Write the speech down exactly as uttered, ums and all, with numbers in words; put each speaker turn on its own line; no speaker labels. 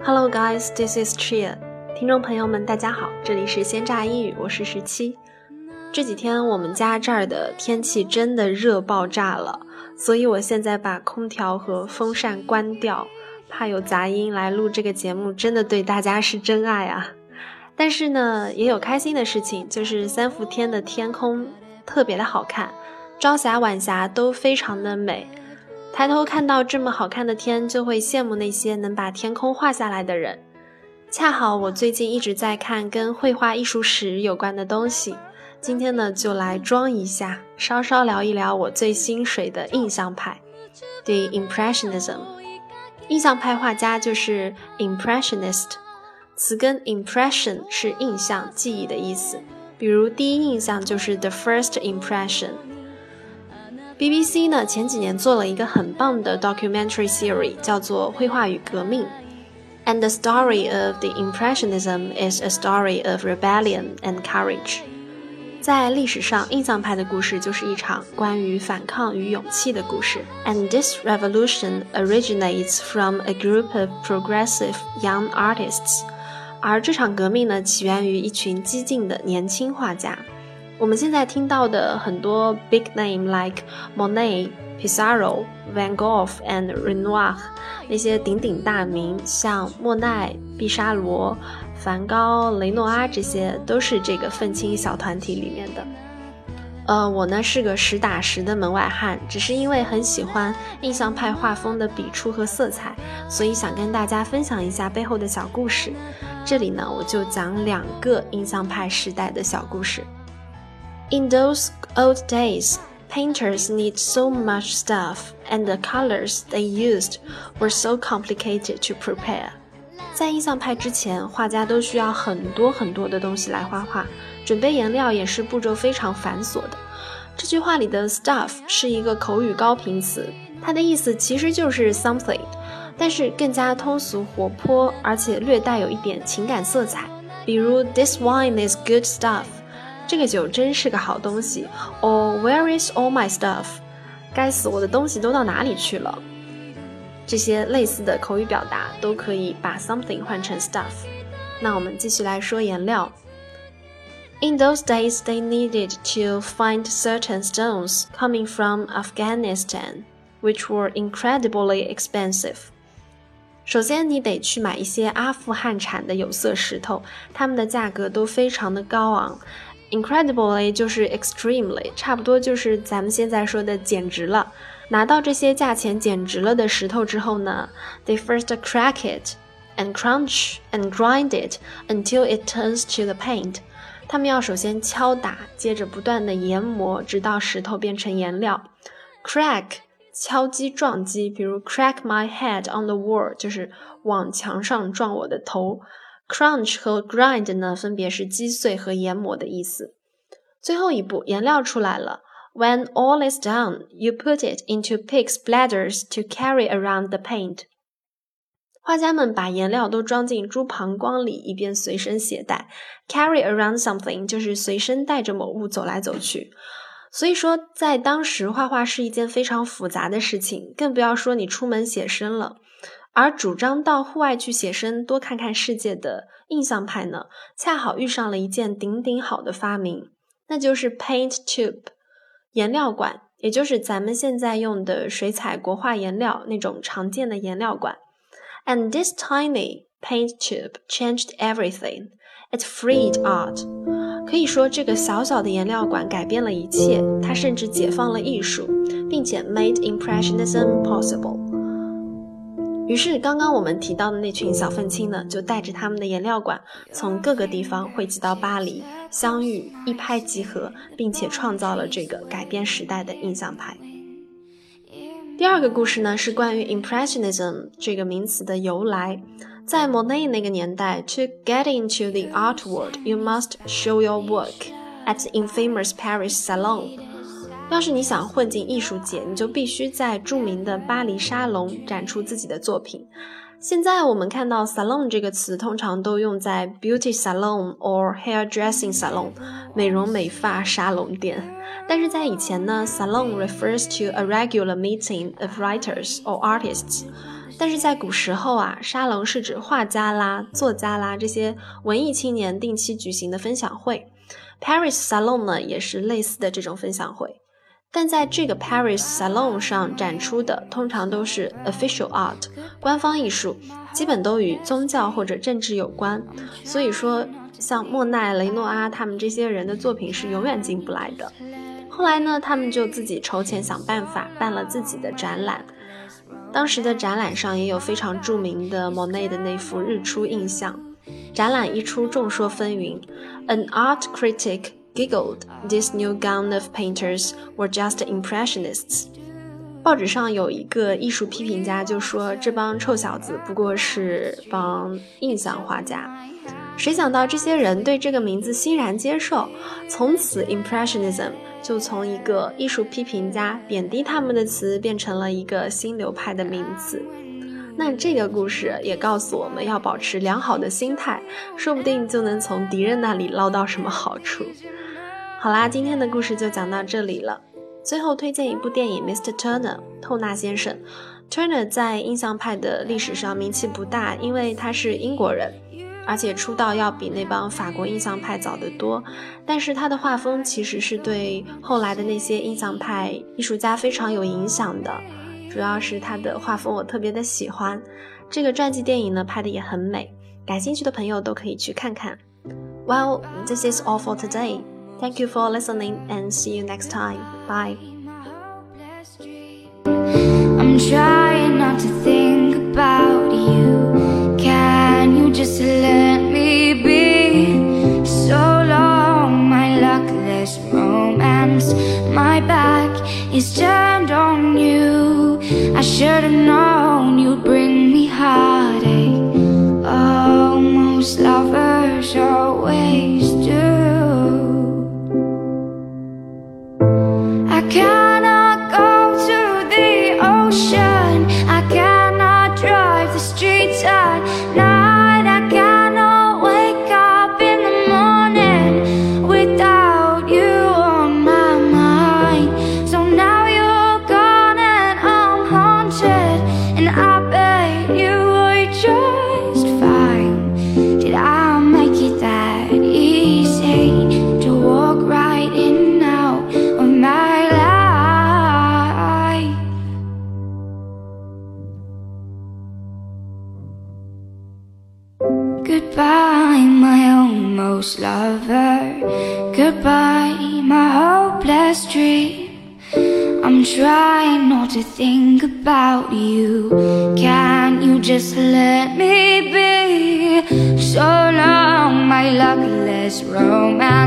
Hello guys, this is Chia. 听众朋友们大家好，这里是鲜榨英语，我是十七。这几天我们家这儿的天气真的热爆炸了，所以我现在把空调和风扇关掉，怕有杂音，来录这个节目真的对大家是真爱啊。但是呢，也有开心的事情，就是三伏天的天空特别的好看，朝霞晚霞都非常的美。抬头看到这么好看的天，就会羡慕那些能把天空画下来的人。恰好我最近一直在看跟绘画艺术史有关的东西，今天呢就来装一下，稍稍聊一聊我最心水的印象派 The Impressionism。 印象派画家就是 Impressionist， 词根 impression 是印象记忆的意思，比如第一印象就是 The First Impression。B B C 呢前几年做了一个很棒的 documentary series， 叫做《绘画与革命》。And the story of the Impressionism is a story of rebellion and courage. 在历史上，印象派的故事就是一场关于反抗与勇气的故事。And this revolution originates from a group of progressive young artists. 而这场革命呢，起源于一群激进的年轻画家。我们现在听到的很多 big name like Monet、Pissarro、Van Gogh and Renoir， 那些鼎鼎大名像莫奈、毕沙罗、梵高、雷诺阿，这些都是这个愤青小团体里面的。呃，我呢是个实打实的门外汉，只是因为很喜欢印象派画风的笔触和色彩，所以想跟大家分享一下背后的小故事。这里呢，我就讲两个印象派时代的小故事。In those old days, painters need so much stuff, and the colors they used were so complicated to prepare. 在印象派之前，画家都需要很多很多的东西来画画，准备颜料也是步骤非常繁琐的。这句话里的 stuff 是一个口语高频词，它的意思其实就是 something， 但是更加通俗活泼，而且略带有一点情感色彩。比如 This wine is good stuff，这个酒真是个好东西 or where is all my stuff， 该死，我的东西都到哪里去了。这些类似的口语表达都可以把 something 换成 stuff。 那我们继续来说颜料。 In those days they needed to find certain stones coming from Afghanistan which were incredibly expensive。 首先你得去买一些阿富汗产的有色石头，它们的价格都非常的高昂。Incredibly 就是 extremely， 差不多就是咱们现在说的简直了。拿到这些价钱简直了的石头之后呢， they first crack it and crunch and grind it until it turns to the paint。 他们要首先敲打，接着不断的研磨，直到石头变成颜料。 Crack 敲击撞击，比如 crack my head on the wall 就是往墙上撞我的头。Crunch 和 grind 呢，分别是击碎和研磨的意思。最后一步，颜料出来了。When all is done, you put it into pig's bladders to carry around the paint. 画家们把颜料都装进猪膀胱里，以便随身携带。Carry around something 就是随身带着某物走来走去。所以说，在当时画画是一件非常复杂的事情，更不要说你出门写生了。而主张到户外去写生，多看看世界的印象派呢，恰好遇上了一件顶顶好的发明，那就是 paint tube 颜料管，也就是咱们现在用的水彩国画颜料那种常见的颜料管。 And this tiny paint tube changed everything. It freed art. 可以说这个小小的颜料管改变了一切，它甚至解放了艺术，并且 made Impressionism possible。于是刚刚我们提到的那群小愤青呢，就带着他们的颜料管从各个地方汇集到巴黎，相遇，一拍即合，并且创造了这个改变时代的印象派。第二个故事呢，是关于 Impressionism 这个名词的由来。在 Monet 那个年代， To get into the art world, you must show your work at the infamous Paris Salon。要是你想混进艺术界，你就必须在著名的巴黎沙龙展出自己的作品。现在我们看到 salon 这个词通常都用在 beauty salon or hairdressing salon 美容美发沙龙店，但是在以前呢， salon refers to a regular meeting of writers or artists。 但是在古时候啊，沙龙是指画家啦、作家啦这些文艺青年定期举行的分享会。Paris Salon 呢也是类似的这种分享会，但在这个 Paris Salon 上展出的通常都是 official art 官方艺术，基本都与宗教或者政治有关，所以说像莫奈、雷诺阿他们这些人的作品是永远进不来的。后来呢，他们就自己筹钱想办法办了自己的展览，当时的展览上也有非常著名的莫奈的那幅日出印象。展览一出，众说纷纭。An art critic giggled, "This new gown of painters were just impressionists." 报纸上有一个艺术批评家就说，这帮臭小子不过是帮印象画家。谁想到这些人对这个名字欣然接受，从此 Impressionism 就从一个艺术批评家贬低他们的词变成了一个新流派的名词。那这个故事也告诉我们要保持良好的心态，说不定就能从敌人那里捞到什么好处。好啦，今天的故事就讲到这里了。最后推荐一部电影 Mister Turner 透纳先生。 Turner 在印象派的历史上名气不大，因为他是英国人，而且出道要比那帮法国印象派早得多，但是他的画风其实是对后来的那些印象派艺术家非常有影响的，主要是他的画风我特别的喜欢。这个传记电影呢拍的也很美，感兴趣的朋友都可以去看看。 Well, this is all for today. Thank you for listening and see you next time. Bye.
I'm trying not to think about you. Can you just let me be? So long, my luckless romance. My back is turned on you. I should have known you'd bring me heartache. Oh, most lovers always do. I cannot go to the ocean. I cannot drive the streets at night. I cannot wake up in the morning without you on my mind. So now you're gone and I'm haunted, and I bet you were just fine. Did I make it that easy to walk right in and out of my life? Goodbye, my almost lover. Goodbye, my hopeless dream. I'm trying not to think about you. Can you just let me be? So long, my luckless romance.